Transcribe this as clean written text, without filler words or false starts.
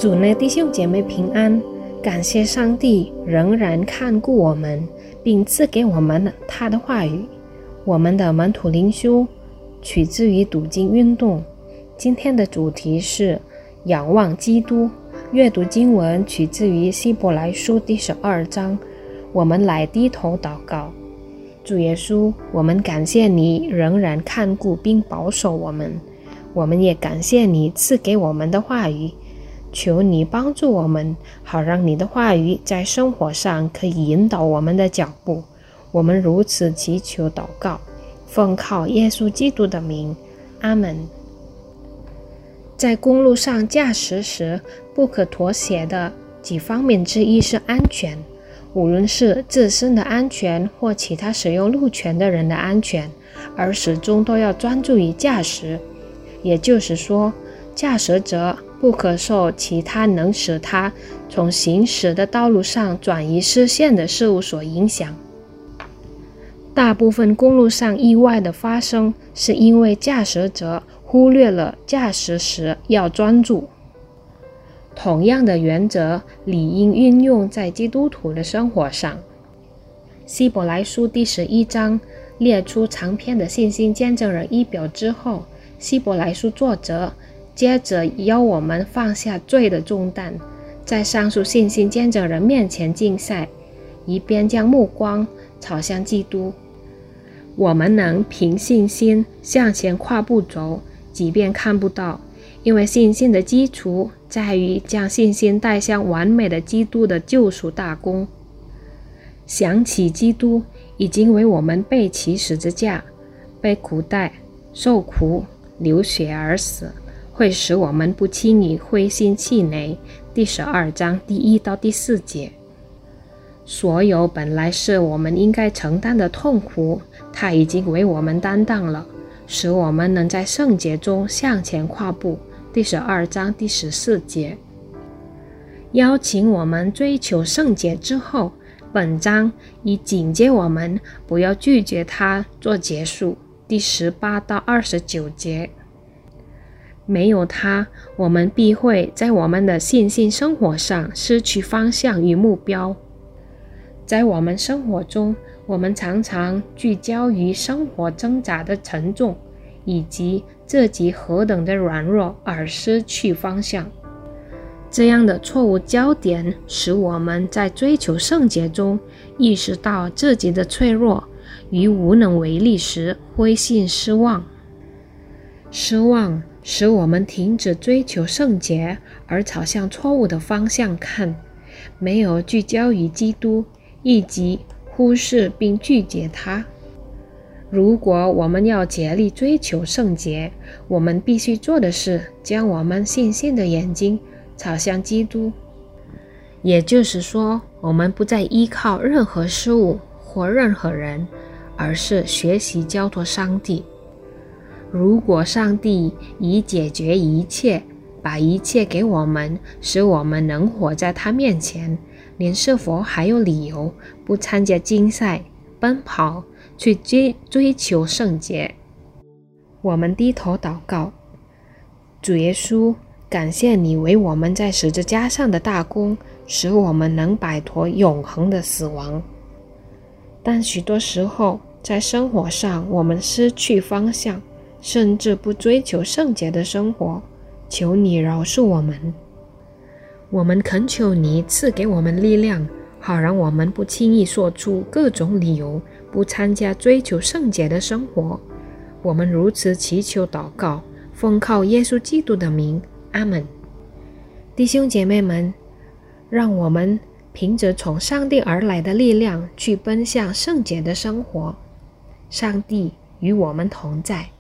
主内弟兄姐妹平安，感谢上帝仍然看顾我们，并赐给我们他的话语。我们的门徒灵修取自于读经运动，今天的主题是仰望基督。阅读经文取自于希伯来书第12章。我们来低头祷告。主耶稣，我们感谢你仍然看顾并保守我们，我们也感谢你赐给我们的话语。求你帮助我们，好让你的话语在生活上可以引导我们的脚步。我们如此祈求祷告，奉靠耶稣基督的名，阿们。在公路上驾驶时，不可妥协的几方面之一是安全。无论是自身的安全或其他使用路权的人的安全，而始终都要专注于驾驶。也就是说，驾驶者不可受其他能使他从行驶的道路上转移视线的事物所影响。大部分公路上意外的发生，是因为驾驶者忽略了驾驶时要专注。同样的原则理应运用在基督徒的生活上。希伯来书第11章列出长篇的信心见证人仪表之后，希伯来书作者接着要我们放下罪的重担，在上述信心见证人面前竞赛，以便将目光朝向基督。我们能凭信心向前跨步走，即便看不到，因为信心的基础在于将信心带向完美的基督的救赎大功。想起基督已经为我们背起十字架，被苦待、受苦、流血而死，会使我们不轻易灰心气馁。第12章第1到第4节。所有本来是我们应该承担的痛苦，他已经为我们担当了，使我们能在圣洁中向前跨步。第12章第14节。邀请我们追求圣洁之后，本章已警戒我们不要拒绝它做结束。第18到29节。没有它，我们必会在我们的信心生活上失去方向与目标。在我们生活中，我们常常聚焦于生活挣扎的沉重，以及自己何等的软弱而失去方向。这样的错误焦点使我们在追求圣洁中意识到自己的脆弱与无能为力时灰心失望。失望使我们停止追求圣洁，而朝向错误的方向看，没有聚焦于基督，以及忽视并拒绝他。如果我们要竭力追求圣洁，我们必须做的是将我们信心的眼睛朝向基督。也就是说，我们不再依靠任何事物或任何人，而是学习交托上帝。如果上帝已解决一切，把一切给我们，使我们能活在他面前，您是否还有理由不参加竞赛、奔跑，去追求圣洁？我们低头祷告。主耶稣，感谢你为我们在十字架上的大功，使我们能摆脱永恒的死亡。但许多时候，在生活上我们失去方向，甚至不追求圣洁的生活。求你饶恕我们。我们恳求你赐给我们力量，好让我们不轻易说出各种理由，不参加追求圣洁的生活。我们如此祈求祷告，奉靠耶稣基督的名，阿们。弟兄姐妹们，让我们凭着从上帝而来的力量去奔向圣洁的生活。上帝与我们同在。